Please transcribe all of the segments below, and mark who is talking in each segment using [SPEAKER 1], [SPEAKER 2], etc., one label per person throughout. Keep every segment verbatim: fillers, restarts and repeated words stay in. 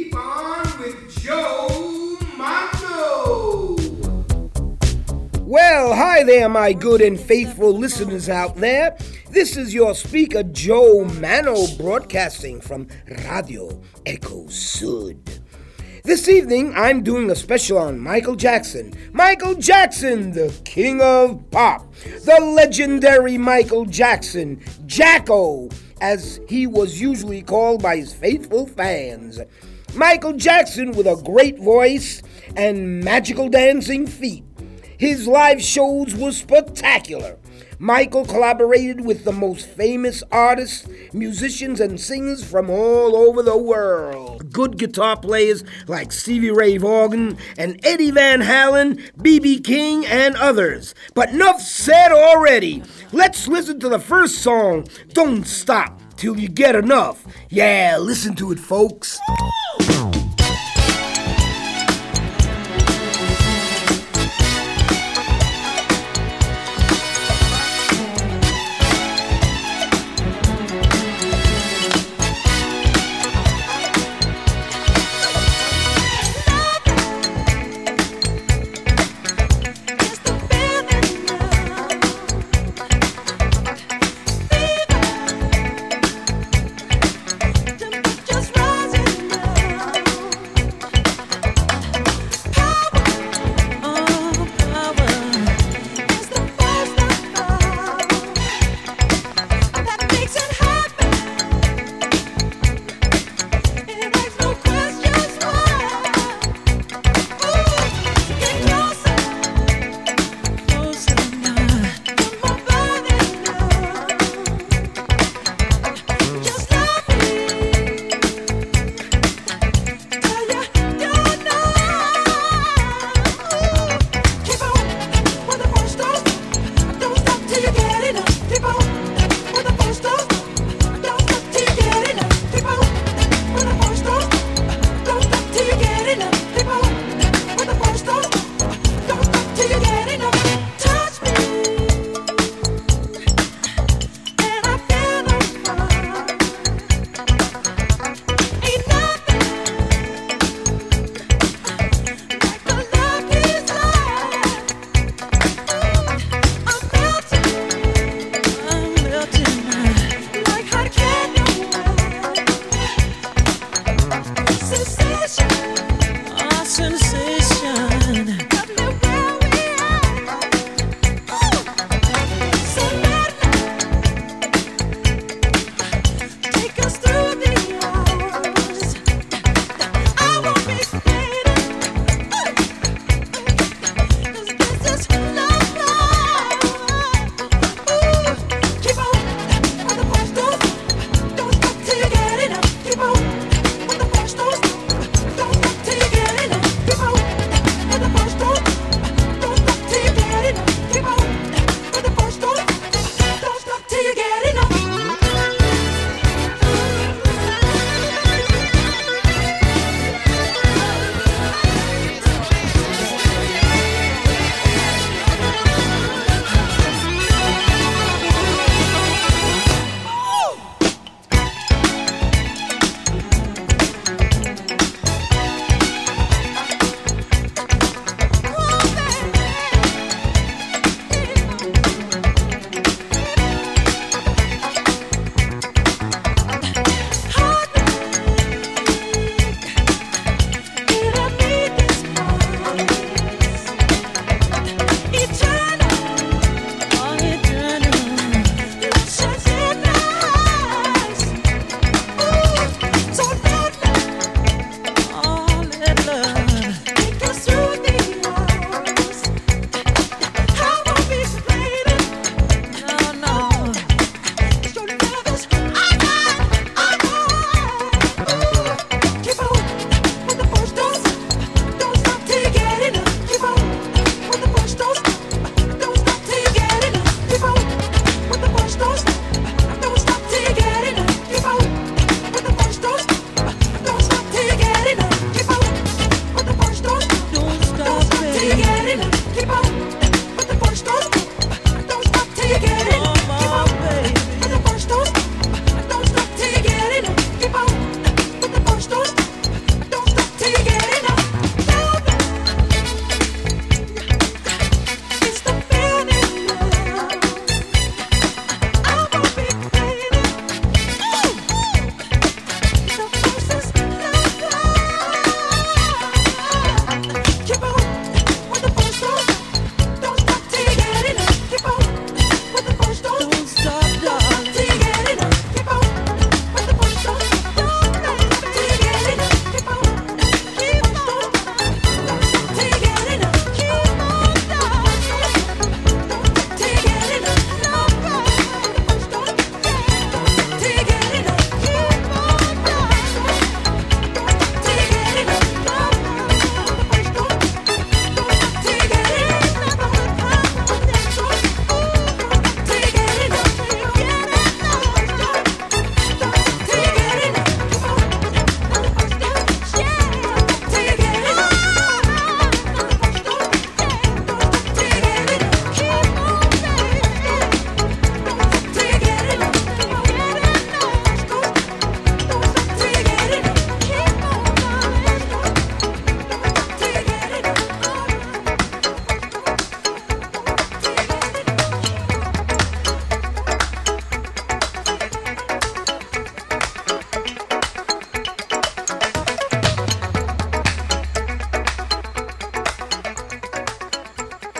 [SPEAKER 1] keep on with Joe Mano.
[SPEAKER 2] Well, hi there, my good and faithful listeners out there. This is your speaker, Joe Mano, broadcasting from Radio Echo Sud. This evening, I'm doing a special on Michael Jackson. Michael Jackson, the king of pop. The legendary Michael Jackson, Jacko, as he was usually called by his faithful fans. Michael Jackson with a great voice and magical dancing feet. His live shows were spectacular. Michael collaborated with the most famous artists, musicians, and singers from all over the world. Good guitar players like Stevie Ray Vaughan and Eddie Van Halen, B B King, and others. But enough said already. Let's listen to the first song, Don't Stop Till You Get Enough. Yeah, listen to it, folks.
[SPEAKER 3] Just rising now.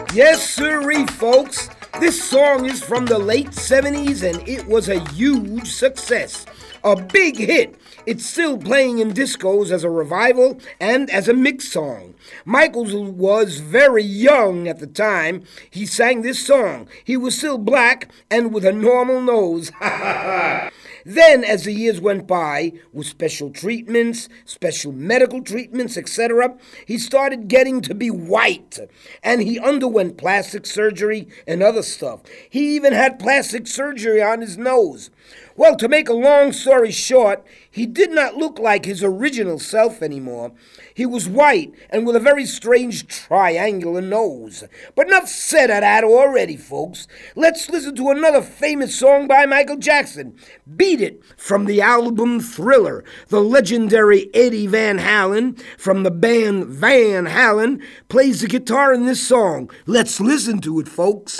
[SPEAKER 2] Yes, sirree, folks. This song is from the late seventies and it was a huge success. A big hit. It's still playing in discos as a revival and as a mix song. Michaels was very young at the time he sang this song. He was still black and with a normal nose. Then, as the years went by, with special treatments, special medical treatments, et cetera, he started getting to be white, and he underwent plastic surgery and other stuff. He even had plastic surgery on his nose. Well, to make a long story short, he did not look like his original self anymore. He was white and with a very strange triangular nose. But enough said of that already, folks. Let's listen to another famous song by Michael Jackson. Beat It, from the album Thriller. The legendary Eddie Van Halen from the band Van Halen plays the guitar in this song. Let's listen to it, folks.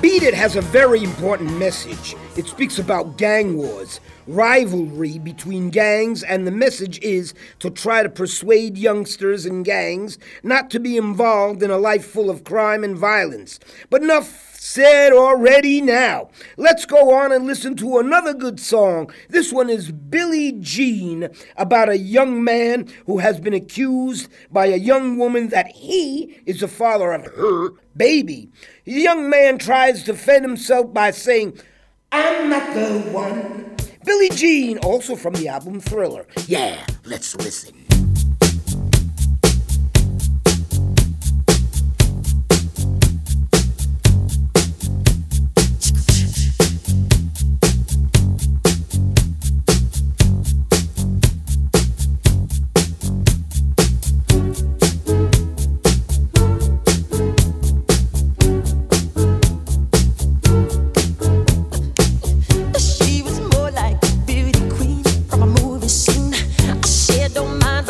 [SPEAKER 2] Beat It has a very important message. It speaks about gang wars, rivalry between gangs, and the message is to try to persuade youngsters in gangs not to be involved in a life full of crime and violence. But enough said already now. Let's go on and listen to another good song. This one is Billie Jean, about a young man who has been accused by a young woman that he is the father of her baby. The young man tries to defend himself by saying, "I'm not the one." Billie Jean, also from the album Thriller. Yeah, let's listen.
[SPEAKER 3] She was more like a beauty queen from a movie scene. I said, don't mind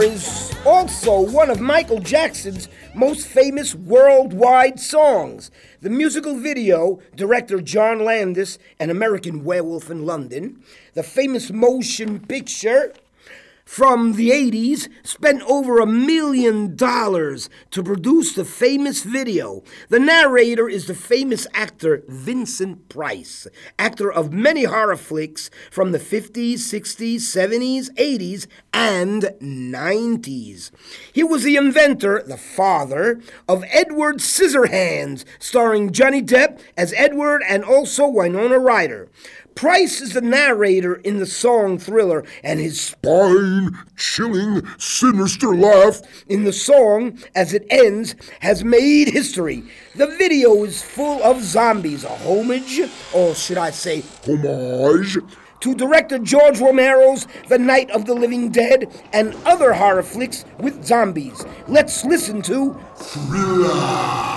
[SPEAKER 2] is also one of Michael Jackson's most famous worldwide songs. The musical video, director John Landis, An American Werewolf in London, the famous motion picture from the eighties, spent over a million dollars to produce the famous video. The narrator is the famous actor Vincent Price, actor of many horror flicks from the fifties, sixties, seventies, eighties, and nineties. He was the inventor, the father, of Edward Scissorhands, starring Johnny Depp as Edward and also Winona Ryder. Price is the narrator in the song Thriller, and his spine-chilling, sinister laugh in the song, as it ends, has made history. The video is full of zombies, a homage, or should I say homage, to director George Romero's The Night of the Living Dead and other horror flicks with zombies. Let's listen to Thriller.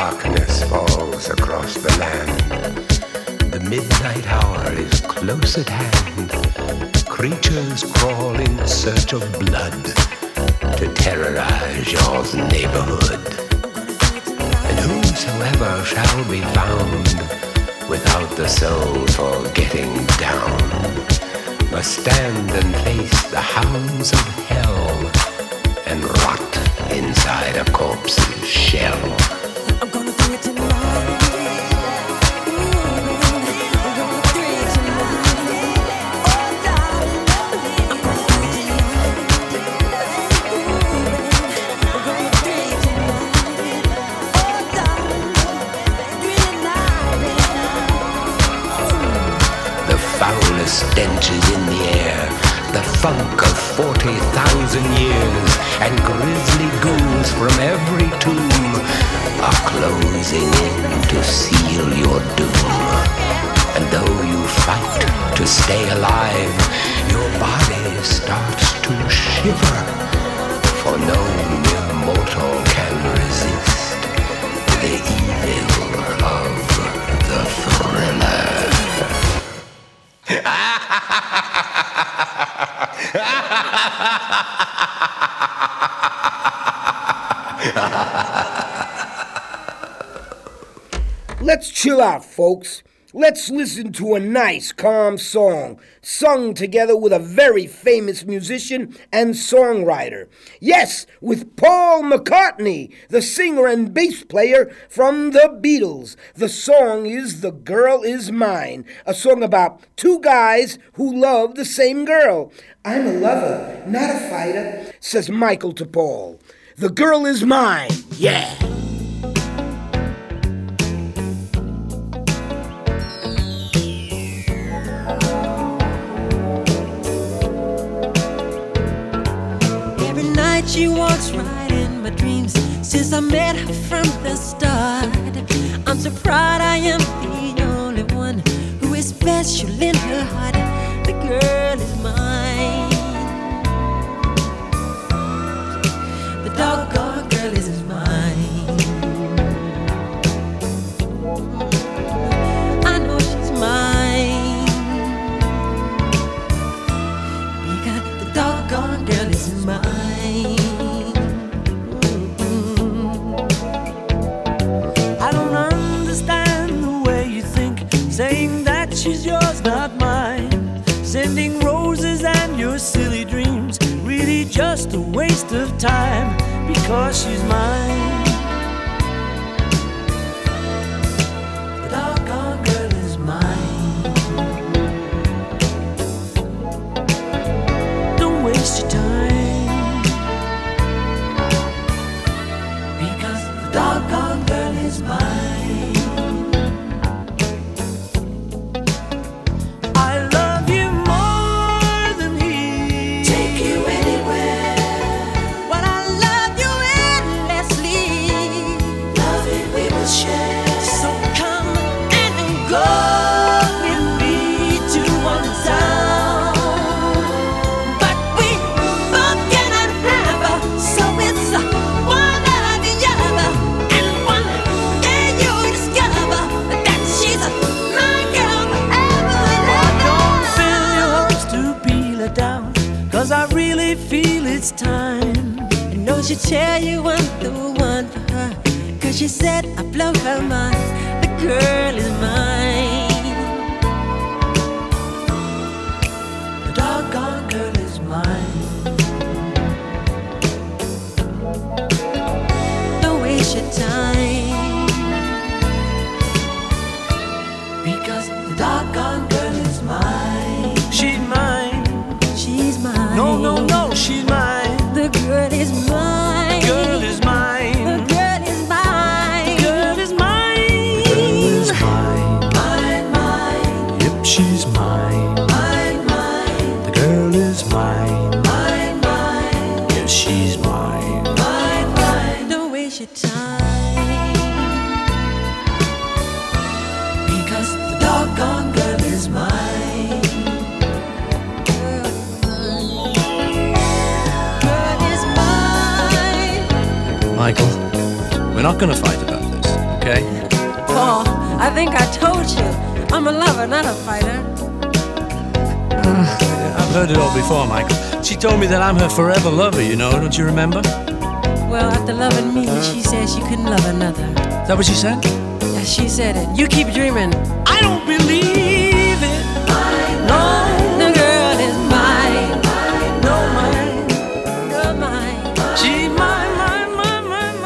[SPEAKER 3] darkness falls across the land. The midnight hour is close at hand. Creatures crawl in search of blood to terrorize your neighborhood. And whosoever shall be found without the soul for getting down must stand and face the hounds of hell and rot inside a corpse's shell.
[SPEAKER 4] I'm gonna do it tonight.
[SPEAKER 3] Stench is in the air, the funk of forty thousand years, and grisly ghouls from every tomb are closing in to seal your doom. And though you fight to stay alive, your body starts to shiver, for no mere mortal can resist the evil of the thriller.
[SPEAKER 2] Let's chill out, folks. Let's listen to a nice, calm song sung together with a very famous musician and songwriter. Yes, with Paul McCartney, the singer and bass player from the Beatles. The song is The Girl Is Mine, a song about two guys who love the same girl. I'm a lover, not a fighter, says Michael to Paul. The girl is mine, yeah.
[SPEAKER 4] She walks right in my dreams since I met her from the start. I'm so proud I am the only one who is special in her heart. The girl is mine. The doggone girl is mine. I know she's mine because the doggone girl is mine.
[SPEAKER 5] Saying that she's yours, not mine. Sending roses and your silly dreams, really just a waste of time, because she's mine. The doggone girl is mine. Don't waste your time, because the doggone girl is mine. It's time. I know she'll tell you I'm the one for her, cause she said I blow her mind. The girl is mine. The doggone girl is mine. Don't waste your time, because the doggone girl is mine. She's mine. She's mine. No, no, no, she's mine. The girl is mine. The girl is mine. The girl is mine. The girl is mine. The girl is mine. Mine, mine. Yep, she's mine. Mine, mine. The girl is mine. Mine, mine. Yes, she's mine. Mine, mine. Don't waste your time, because the doggone girl is mine.
[SPEAKER 6] Michael, we're not going to fight about this,
[SPEAKER 5] okay?
[SPEAKER 4] Paul, I think I told you. I'm a lover, not a fighter.
[SPEAKER 5] I've heard it all before, Michael. She told me that I'm her forever lover, you know, don't you remember?
[SPEAKER 4] Well, after loving me, she said she couldn't love another.
[SPEAKER 5] Is that what she said?
[SPEAKER 4] Yeah, she said it. You keep dreaming.
[SPEAKER 5] I don't believe it. No.
[SPEAKER 4] The girl is mine. No, mine. You're mine.
[SPEAKER 5] She mine, mine, mine, mine,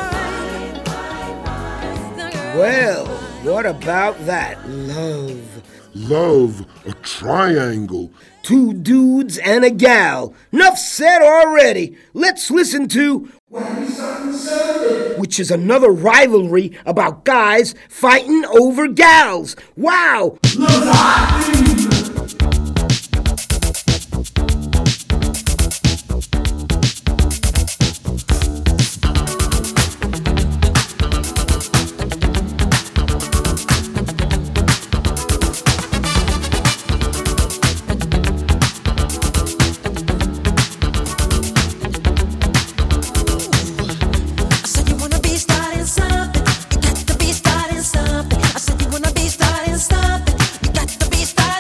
[SPEAKER 5] mine.
[SPEAKER 2] Well, what about that? Love.
[SPEAKER 6] Love, a triangle.
[SPEAKER 2] Two dudes and a gal. Enough said already. Let's listen to which is another rivalry about guys fighting over gals. Wow!
[SPEAKER 7] Something. You got to be starting something.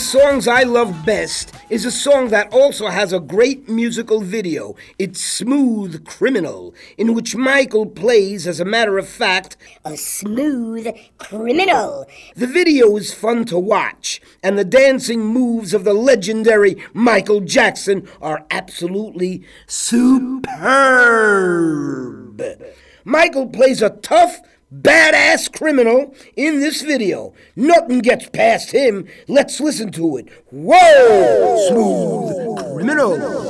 [SPEAKER 2] songs I love best is a song that also has a great musical video. It's Smooth Criminal, in which Michael plays, as a matter of fact,
[SPEAKER 7] a smooth criminal.
[SPEAKER 2] The video is fun to watch, and the dancing moves of the legendary Michael Jackson are absolutely superb. Michael plays a tough, badass criminal in this video. Nothing gets past him. Let's listen to it. Whoa! Smooth Criminal.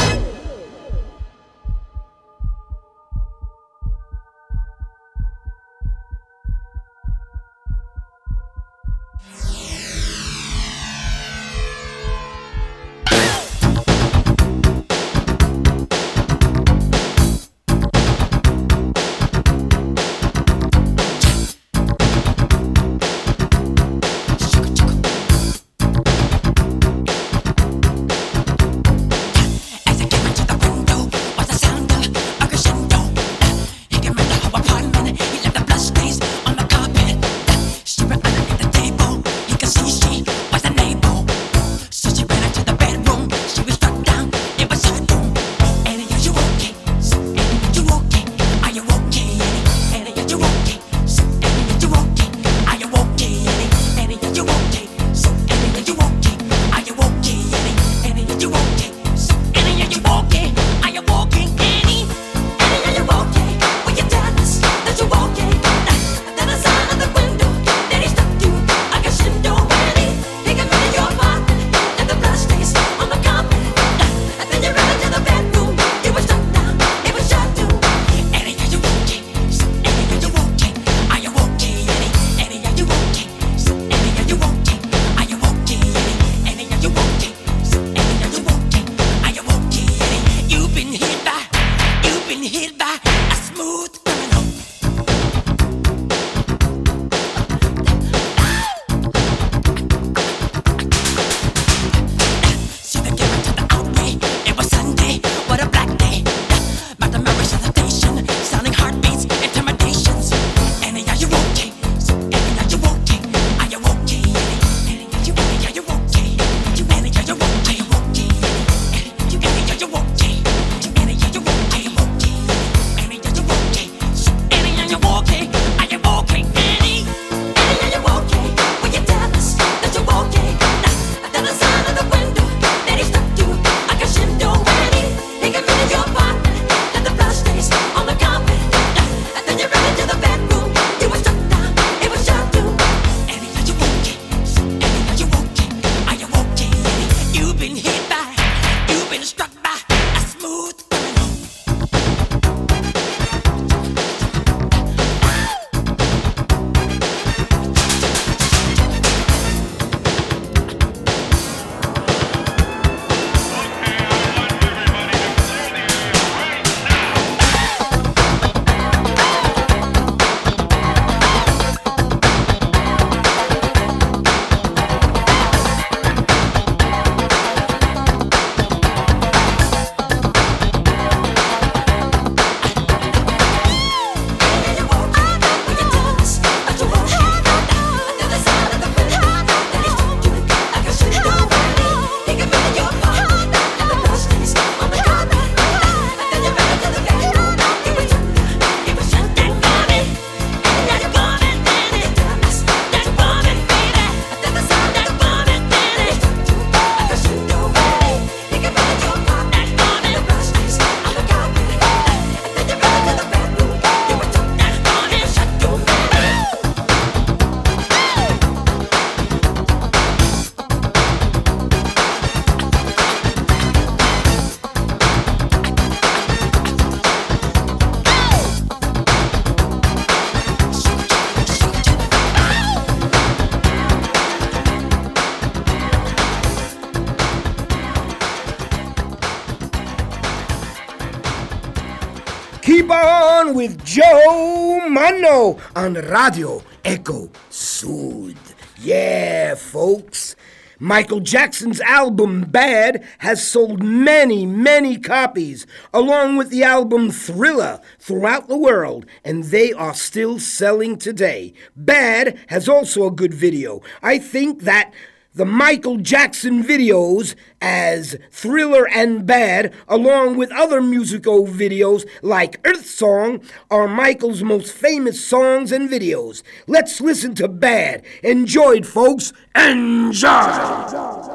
[SPEAKER 2] Keep on with Joe Mano on Radio Echo Sud. Yeah, folks. Michael Jackson's album Bad has sold many, many copies, along with the album Thriller, throughout the world, and they are still selling today. Bad has also a good video. I think that The Michael Jackson videos as Thriller and Bad, along with other musical videos like Earth Song, are Michael's most famous songs and videos. Let's listen to Bad. Enjoy it, folks. Enjoy!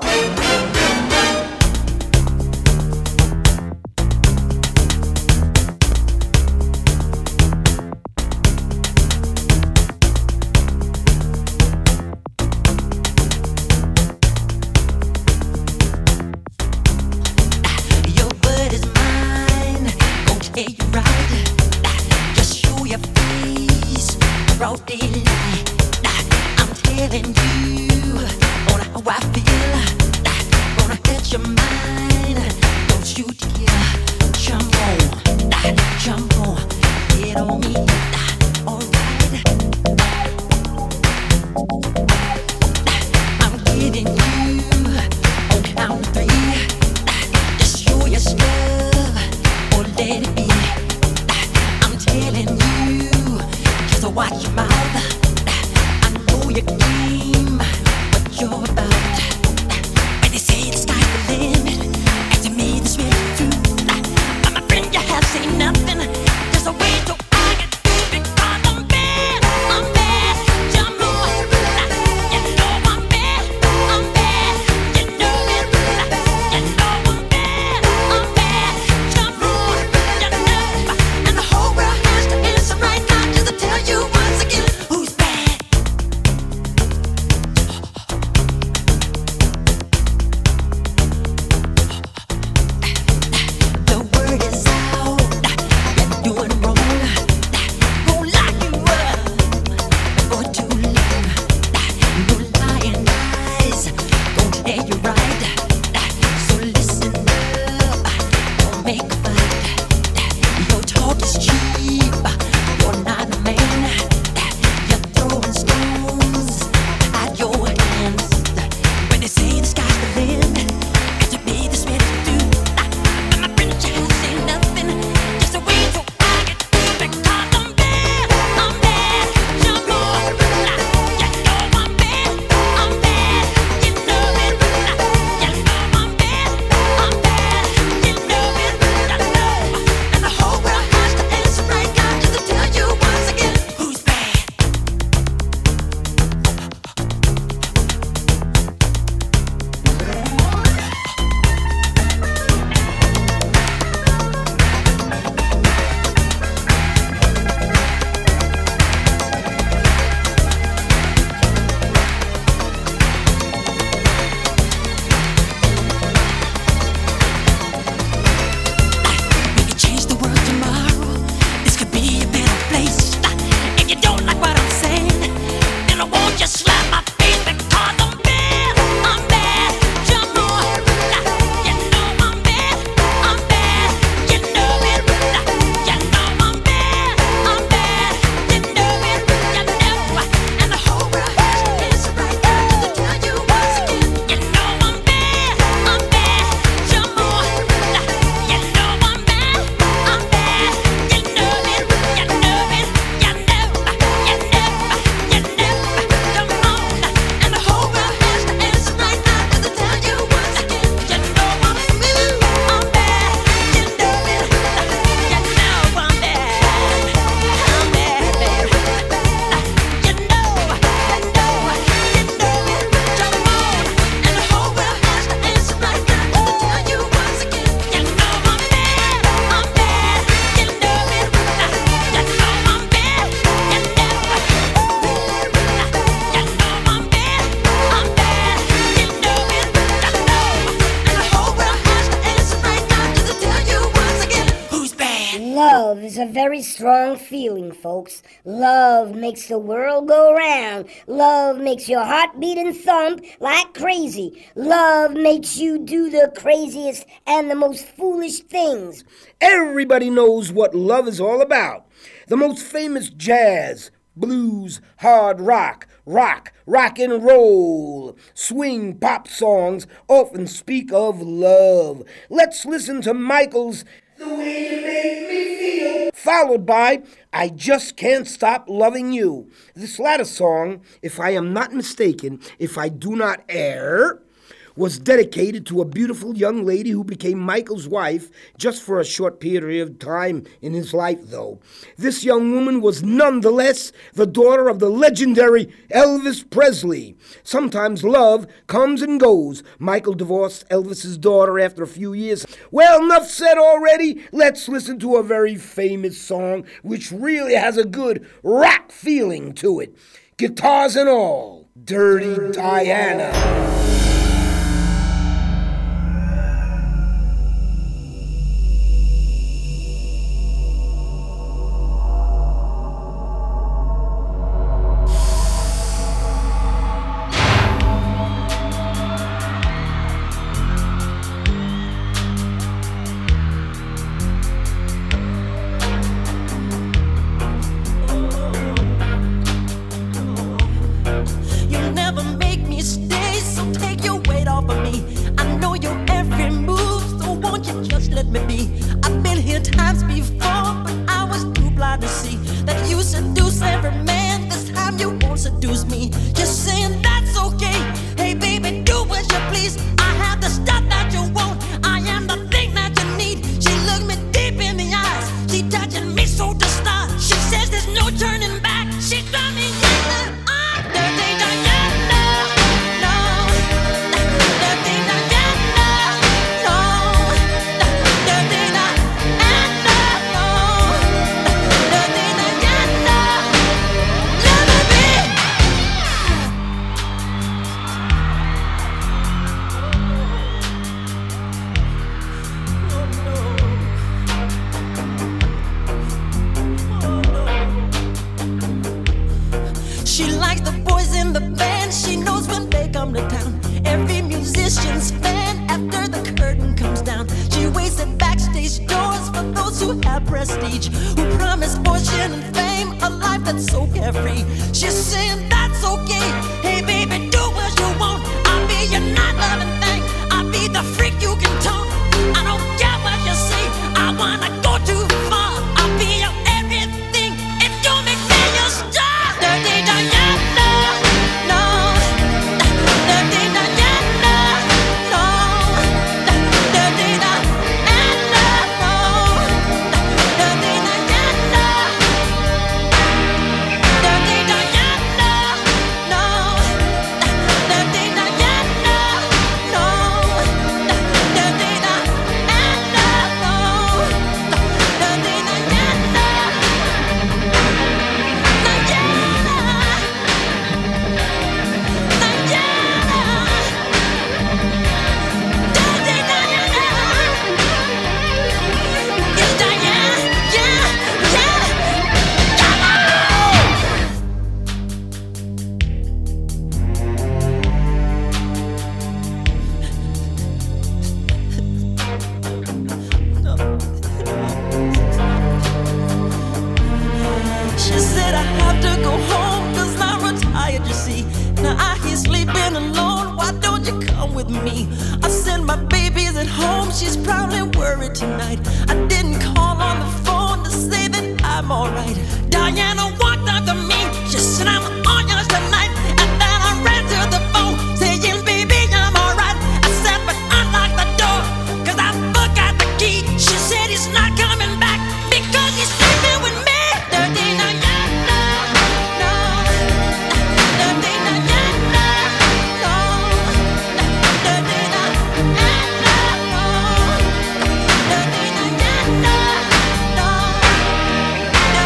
[SPEAKER 4] I'm telling you on how I feel. Gonna hit your mind. Don't you dare jump on, jump on, get on me. Alright, I'm getting you on count three. Just show your stuff or let it be. I'm telling you, just watch your mouth. Your game, what you're about. When they say the sky's the limit, and to me this really true. But my friend, you have seen nothing. There's a way to I get through because I'm bad, I'm bad. Jump on, you know I'm bad, I'm bad. You know it, you know I'm bad, I'm bad. Jump on, you know, and the whole world has to answer right now just to tell you once again who's bad.
[SPEAKER 7] Love is a very strong feeling, folks. Love makes the world go round. Love makes your heart beat and thump like crazy. Love makes you do the craziest and the most foolish things.
[SPEAKER 2] Everybody knows what love is all about. The most famous jazz, blues, hard rock, rock, rock and roll, swing pop songs often speak of love. Let's listen to Michael's The Way You Make Me Feel followed by I Just Can't Stop Loving You. This latter song, if I am not mistaken, if I do not err, was dedicated to a beautiful young lady who became Michael's wife just for a short period of time in his life, though. This young woman was nonetheless the daughter of the legendary Elvis Presley. Sometimes love comes and goes. Michael divorced Elvis's daughter after a few years. Well, enough said already. Let's listen to a very famous song which really has a good rock feeling to it. Guitars and all, Dirty, Dirty Diana. Diana.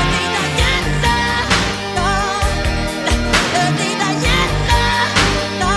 [SPEAKER 4] No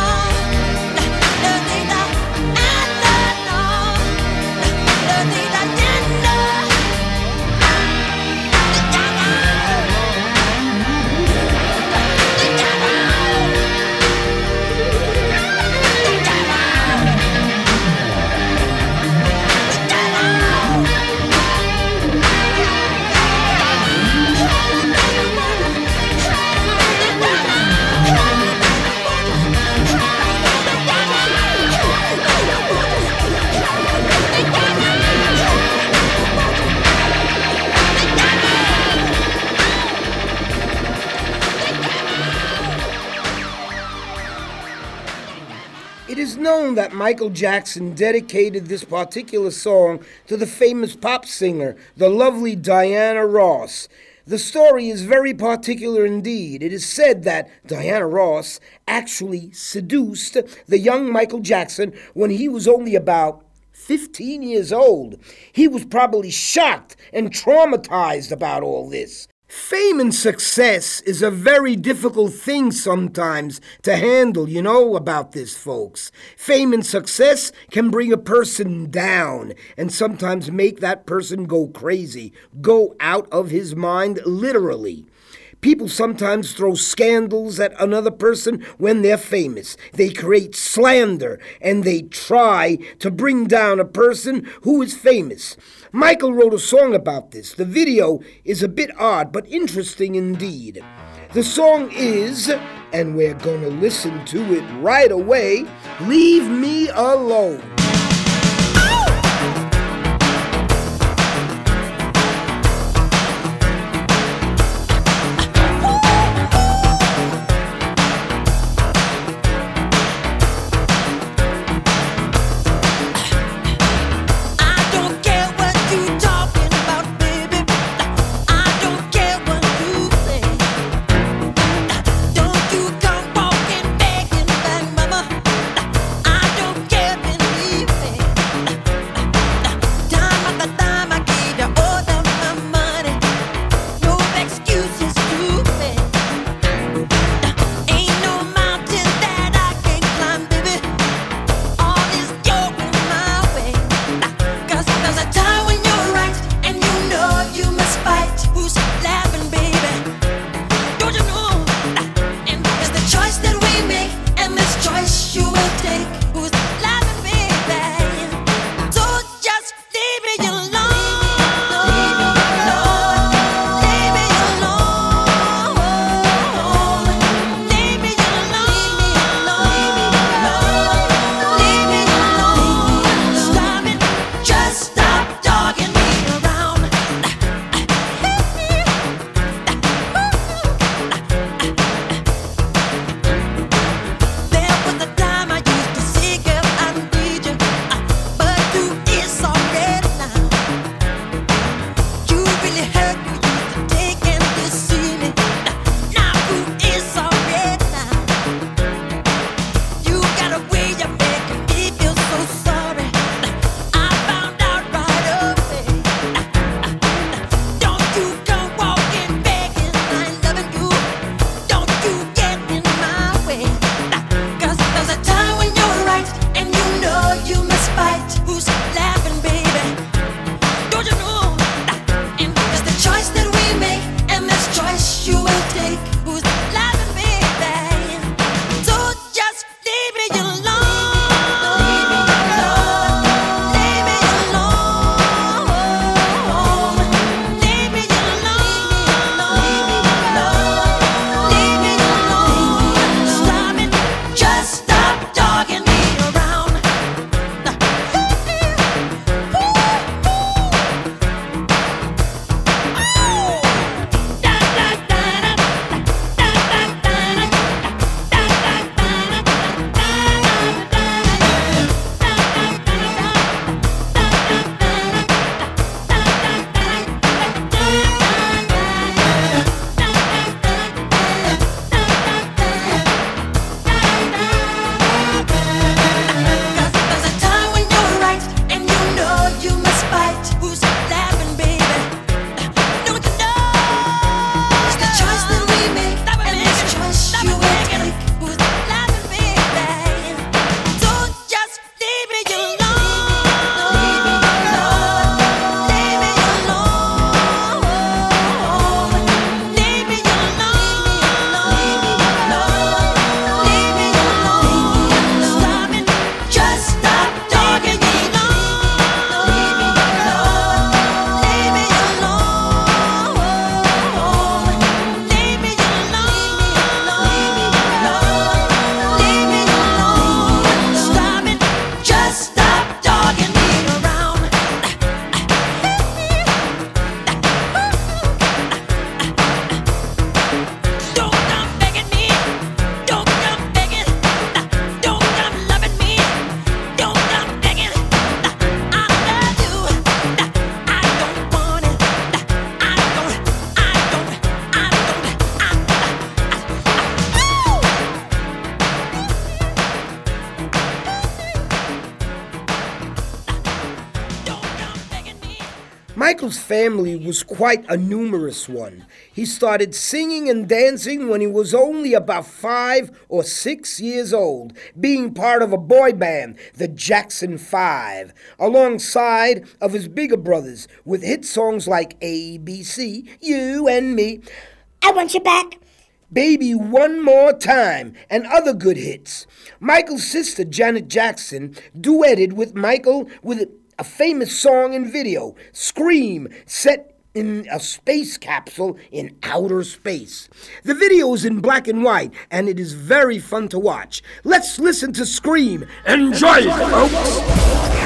[SPEAKER 2] known that Michael Jackson dedicated this particular song to the famous pop singer, the lovely Diana Ross. The story is very particular indeed. It is said that Diana Ross actually seduced the young Michael Jackson when he was only about fifteen years old. He was probably shocked and traumatized about all this. Fame and success is a very difficult thing sometimes to handle, you know about this, folks. Fame and success can bring a person down and sometimes make that person go crazy, go out of his mind, literally. People sometimes throw scandals at another person when they're famous. They create slander and they try to bring down a person who is famous. Michael wrote a song about this. The video is a bit odd, but interesting indeed. The song is, and we're going to listen to it right away, Leave Me Alone.
[SPEAKER 4] Don't you come walking, begging back, mama. I don't care if
[SPEAKER 2] Michael's family was quite a numerous one. He started singing and dancing when he was only about five or six years old, being part of a boy band, the Jackson Five, alongside of his bigger brothers, with hit songs like A B C, You and Me,
[SPEAKER 7] I Want You Back,
[SPEAKER 2] Baby One More Time, and other good hits. Michael's sister, Janet Jackson, duetted with Michael with a famous song and video, Scream, set in a space capsule in outer space. The video is in black and white, and it is very fun to watch. Let's listen to Scream. Enjoy it, folks!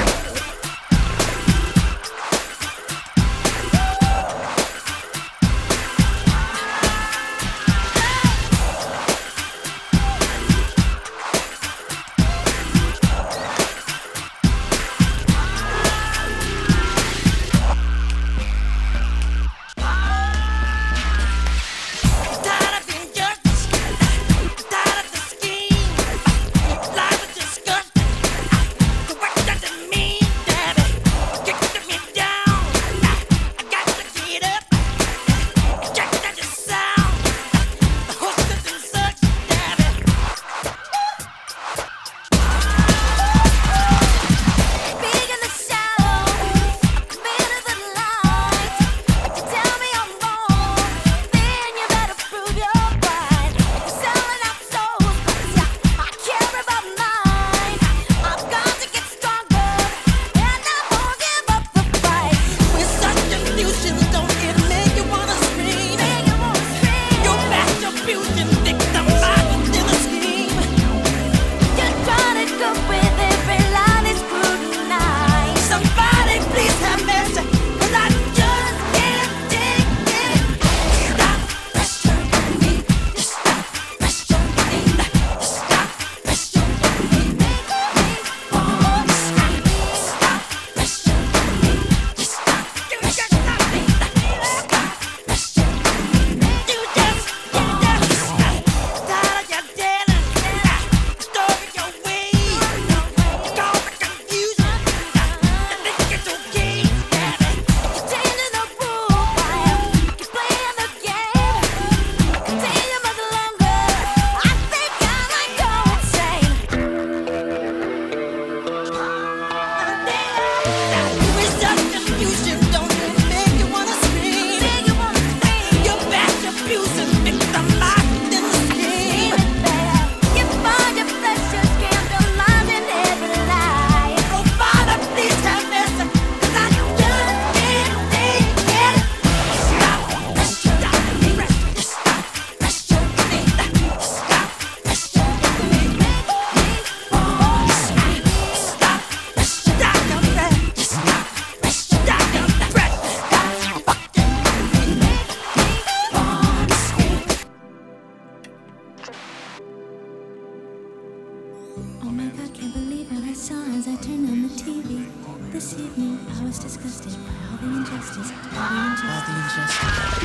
[SPEAKER 8] This evening I was disgusted by all the injustice, all the injustice,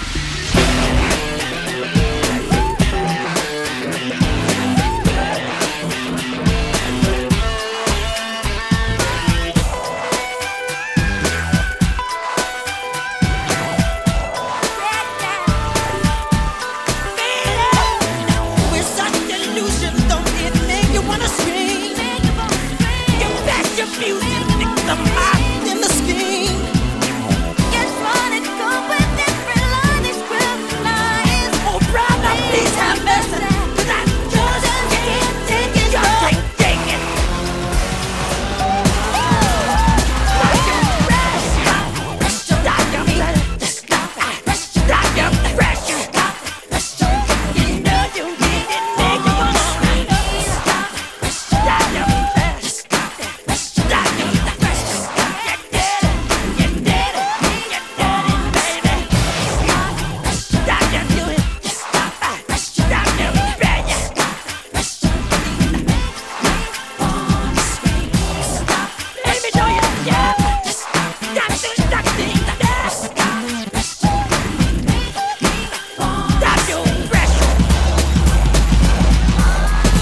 [SPEAKER 8] all the injustice.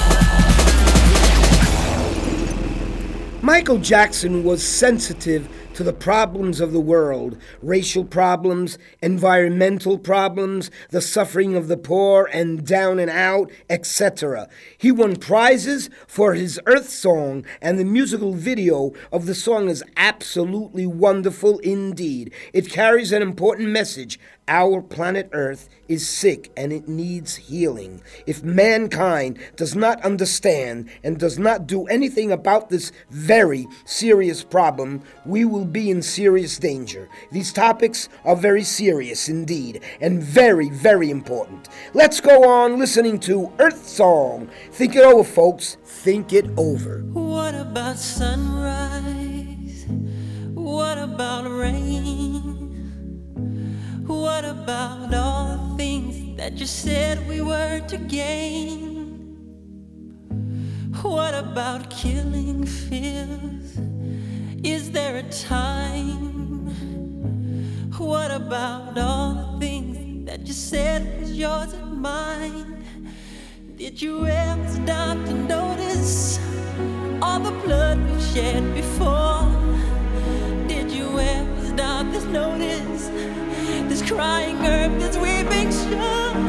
[SPEAKER 2] Michael Jackson was sensitive to the problems of the world, racial problems, environmental problems, the suffering of the poor and down and out, et cetera. He won prizes for his Earth song, and the musical video of the song is absolutely wonderful indeed. It carries an important message. Our planet Earth is sick and it needs healing. If mankind does not understand and does not do anything about this very serious problem, we will be in serious danger. These topics are very serious indeed and very, very important. Let's go on listening to Earth Song. Think it over, folks. Think it over.
[SPEAKER 5] What about sunrise? What about rain? What about all the things that you said we were to gain? What about killing fears? Is there a time? What about all the things that you said was yours and mine? Did you ever stop to notice all the blood we've shed before? Did you ever stop to notice this crying earth, this weeping shore?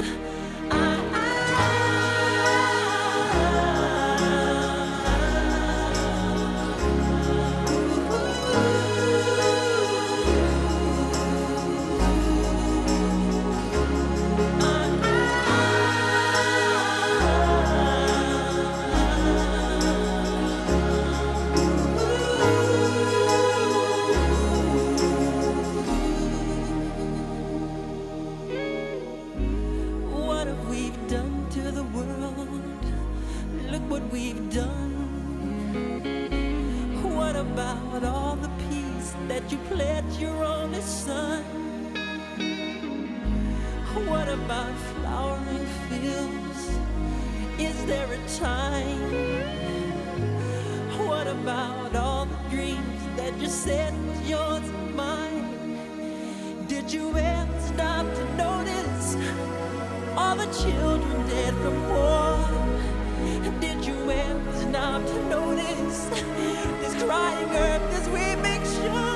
[SPEAKER 5] You pledged your only son. What about flowering fields? Is there a time? What about all the dreams that you said was yours and mine? Did you ever stop to notice all the children dead from war? Did you ever stop to notice this crying earth, this weeping shore?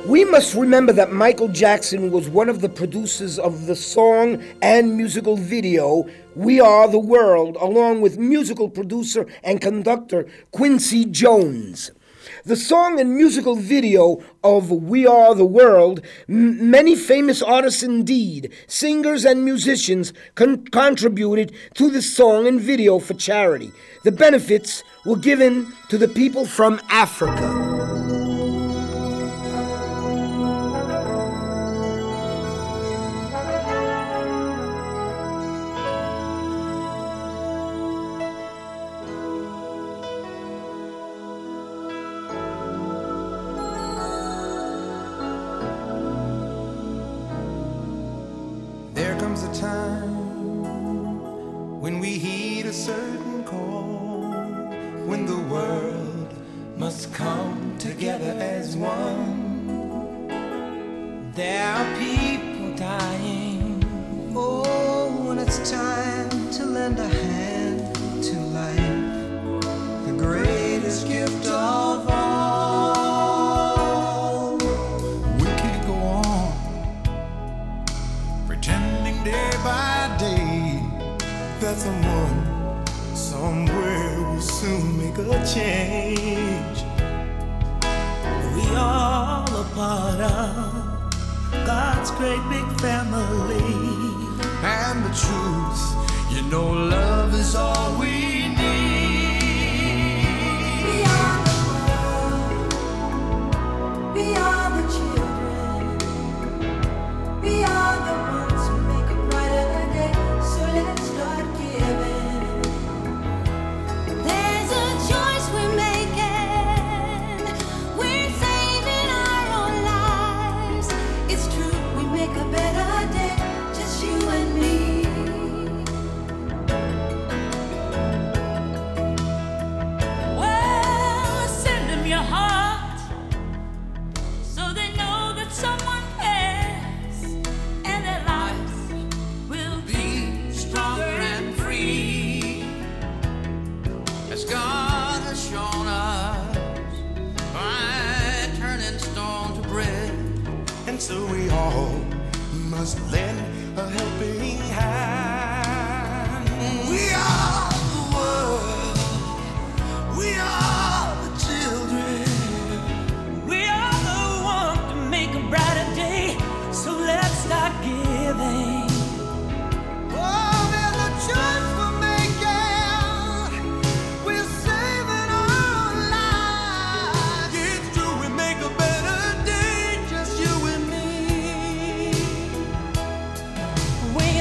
[SPEAKER 2] We must remember that Michael Jackson was one of the producers of the song and musical video We Are the World, along with musical producer and conductor Quincy Jones. The song and musical video of We Are the World, m- many famous artists indeed, singers and musicians con- contributed to the song and video for charity. The benefits were given to the people from Africa.
[SPEAKER 5] There comes a time when we heed a certain call, when the world must come together as one. There are people dying. Oh, when it's time to lend a hand to life, the greatest gift of all. We can't go on pretending day by day that someone somewhere will soon make a change. We all a part of God's great big family, and the truth, you know, love is all we need. We are the world, we are the children, we are the ones who make a brighter day, so let's start giving.
[SPEAKER 8] There's a choice we're making. We're saving our own lives. It's true, we make a better day, just you and me. Well, send them your heart so they know that someone cares, and their lives will
[SPEAKER 5] Be stronger and free, as God has shown us by turning stone to bread. And so we all must lend a helping hand. We are the world, we are the children, we are the ones to make a brighter day, so let's start giving. Oh, there's a choice we're making. We're saving our lives. It's true, we make a better day, just you and me.
[SPEAKER 8] We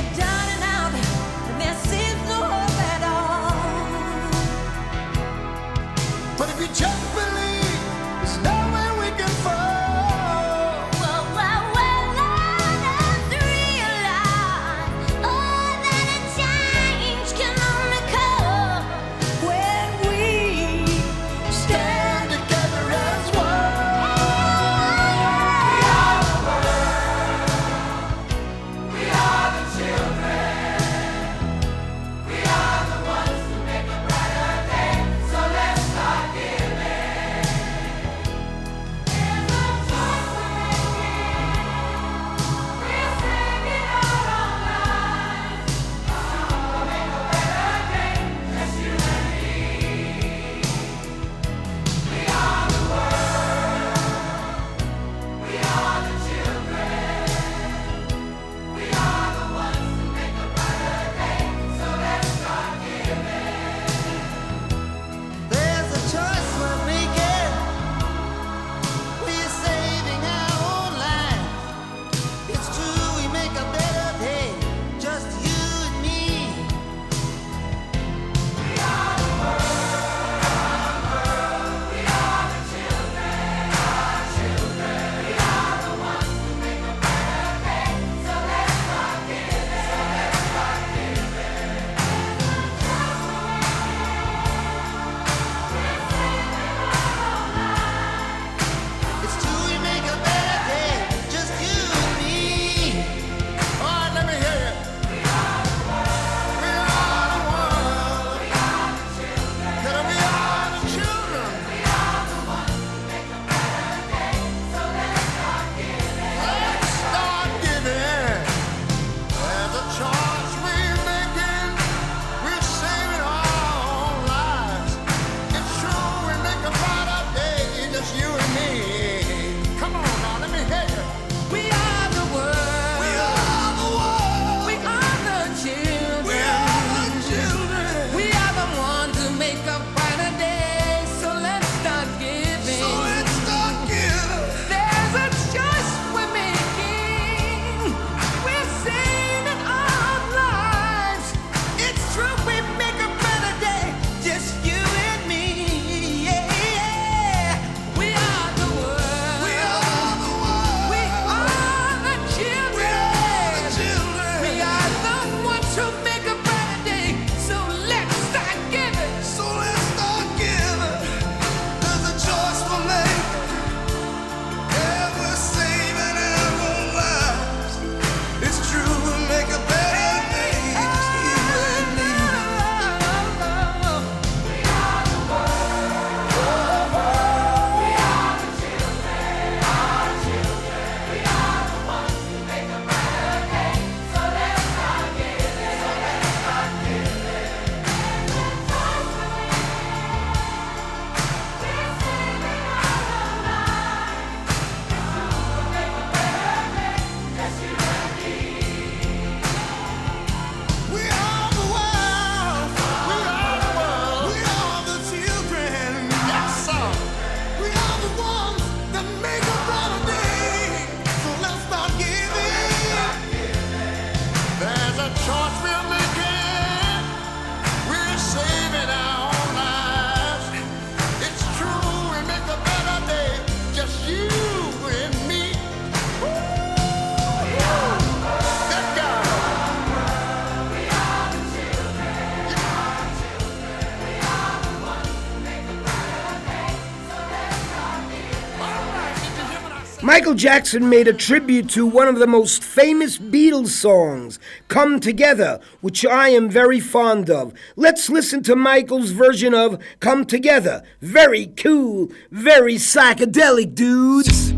[SPEAKER 2] Michael Jackson made a tribute to one of the most famous Beatles songs, Come Together, which I am very fond of. Let's listen to Michael's version of Come Together. Very cool, very psychedelic, dudes.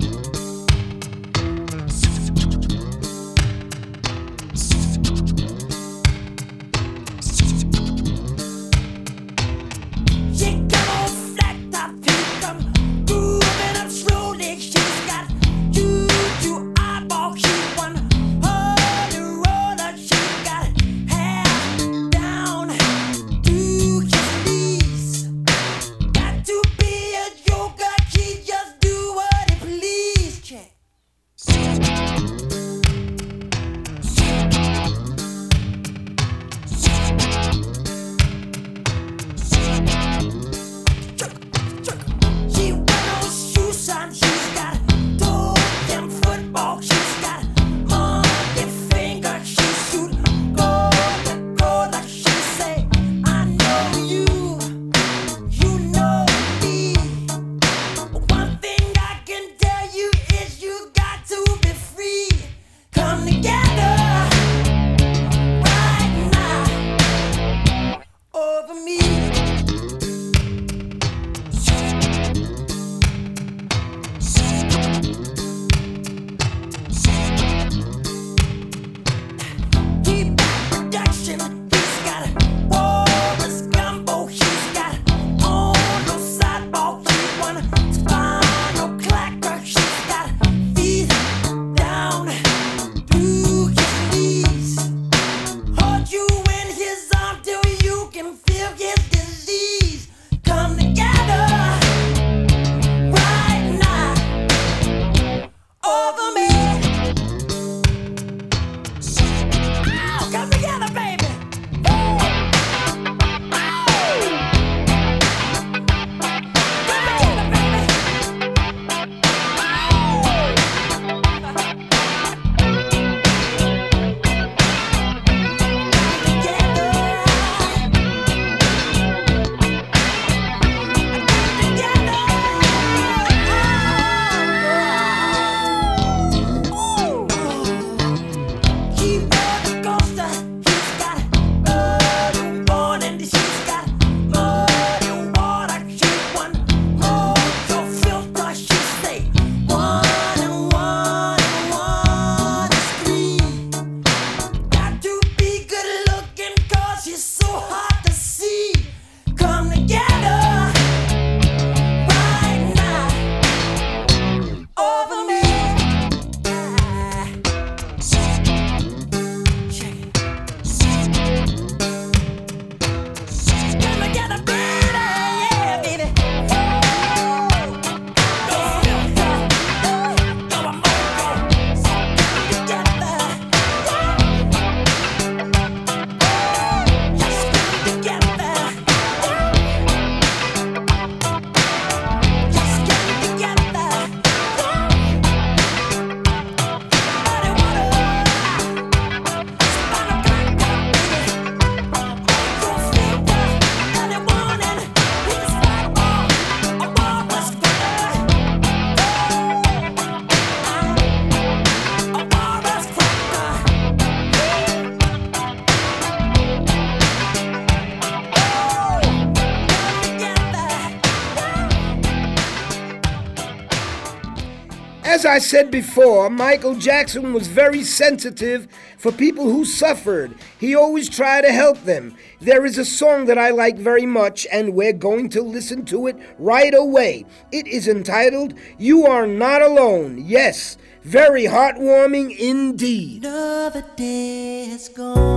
[SPEAKER 2] As I said before, Michael Jackson was very sensitive for people who suffered. He always tried to help them. There is a song that I like very much, and we're going to listen to it right away. It is entitled, You Are Not Alone. Yes, very heartwarming indeed.
[SPEAKER 4] Another day is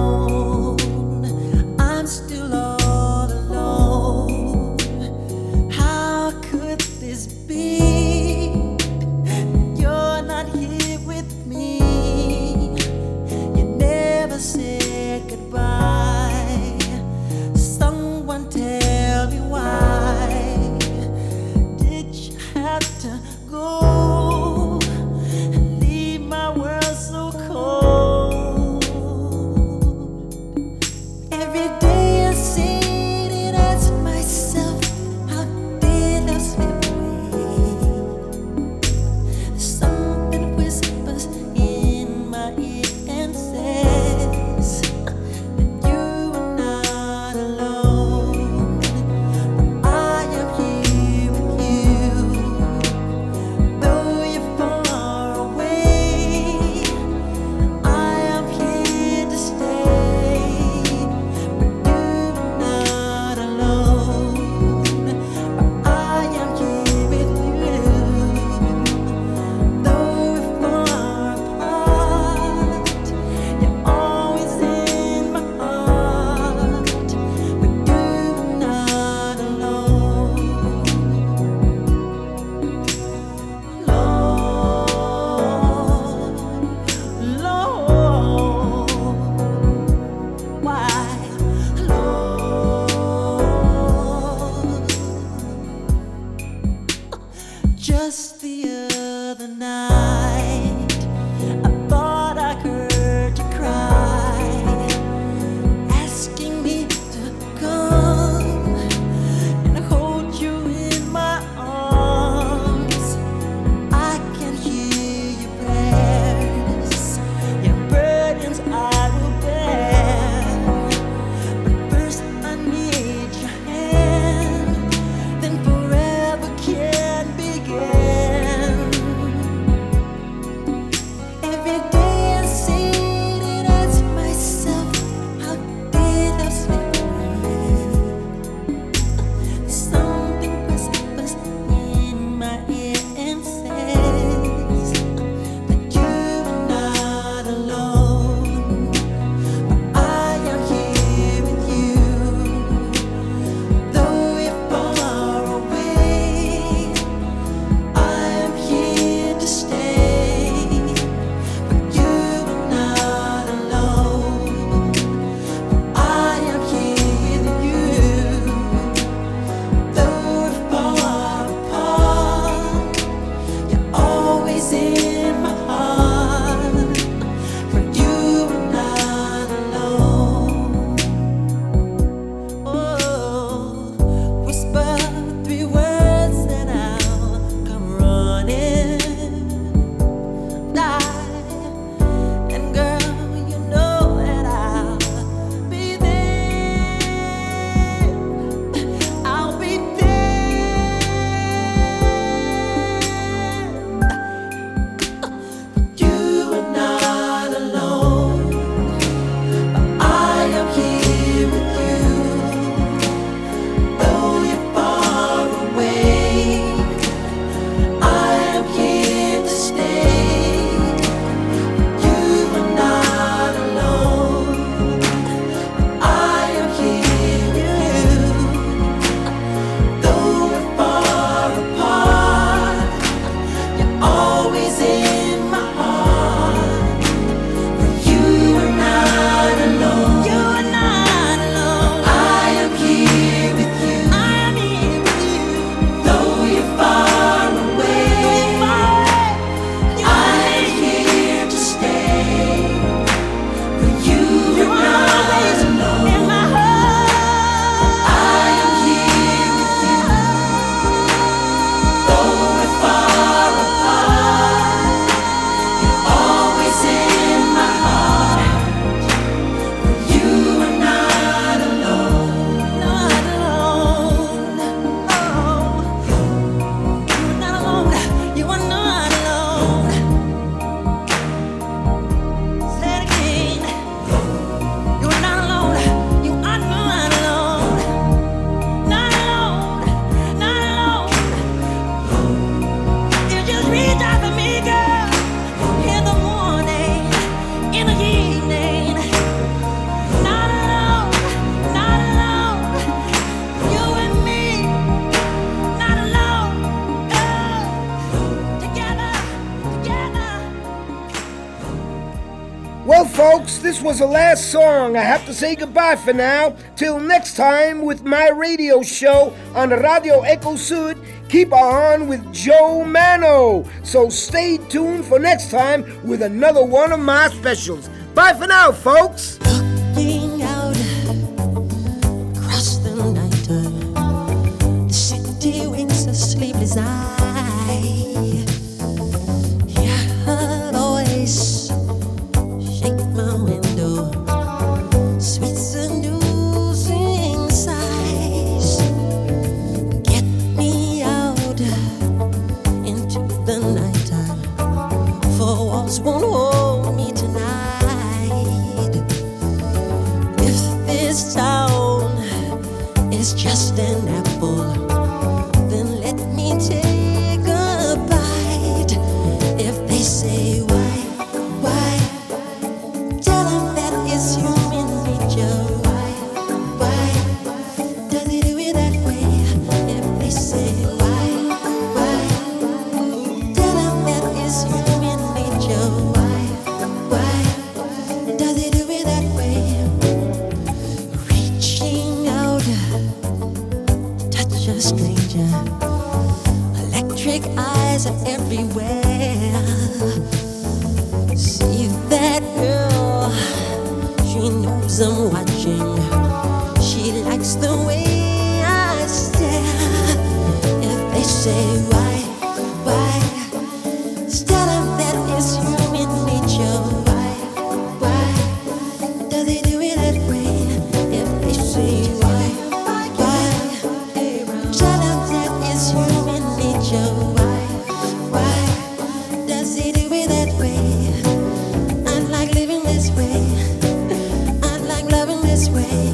[SPEAKER 4] gone. I'm still all alone. How could this be? You're not here with me. You never said goodbye. Someone tell me why did you have to go and leave my world so cold? Every day I sit and ask myself, how did I slip away? other night, I thought I heard you cry, asking me to come and hold you in my arms. I can hear your prayers, your burdens I will bear. But first I need your hand, then forever can begin. Every day I sit and ask myself, how did I slip away? Something whispers in my ear and says that you're not alone. But I am here with you, though we're far away. I am here to stay, but you're not alone. I am here with you, though we're far apart. You're always in my heart, for you are not alone. Oh, whisper three words and I'll come running. And girl, you know that I'll be there. I'll be there. You are not alone. I am here with you, though you're far away. I am here to stay. You are not alone. I am here with you, though we're far apart. You're always in my heart, for you are not alone. You are not alone. I am here with you. I am here with you, though you're far away. I am here to stay, for you are not alone. In my heart, I am here with you, though we're far apart. You're always in my heart, for you are not alone. Not alone. Oh, you're not alone. You are not alone. Say it again. You are not alone. You are not alone. Not alone. Not alone. You just reach out to me, girl, in the morning, in the evening. Not alone. Not alone. You and me. Not alone. Oh, together. Together.
[SPEAKER 2] Well, folks, this was the last song. I have to say goodbye for now. Till next time with my radio show on Radio Echo Sud. Keep on with Joe Mano. So stay tuned for next time with another one of my specials. Bye for now, folks.
[SPEAKER 4] Looking out across the night, the city winks a sleepless eye. Hear her voice shake my window, sweet seducing sighs. Get me out into the nighttime, for walls won't hold me tonight. everywhere. See that girl, she knows I'm watching. She likes the way I stare. If they say why, why, tell them that it's human nature. Why, why, does he do it that way? If they say why, why, tell them that it's human nature. Why, why, does he do it that way? I like living this way. I like loving this way.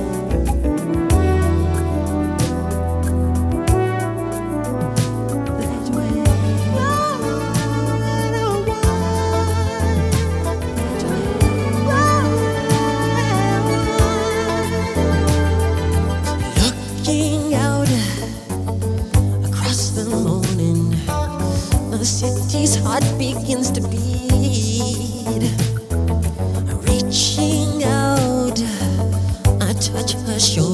[SPEAKER 4] Looking out across the morning, the city's heart begins to beat. Reaching out, I touch her shoulder.